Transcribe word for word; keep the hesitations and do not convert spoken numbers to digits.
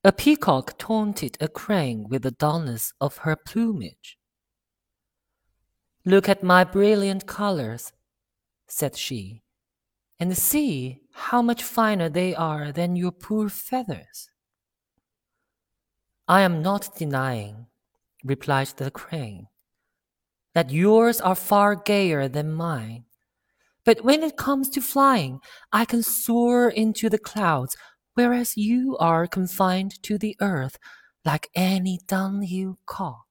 A peacock taunted a crane with the dullness of her plumage. "Look at my brilliant colors," said she, "and see how much finer they are than your poor feathers." "I am not denying," replied the crane, "that yours are far gayer than mine. But when it comes to flying, I can soar into the clouds, whereas you are confined to the earth like any dunghill cock."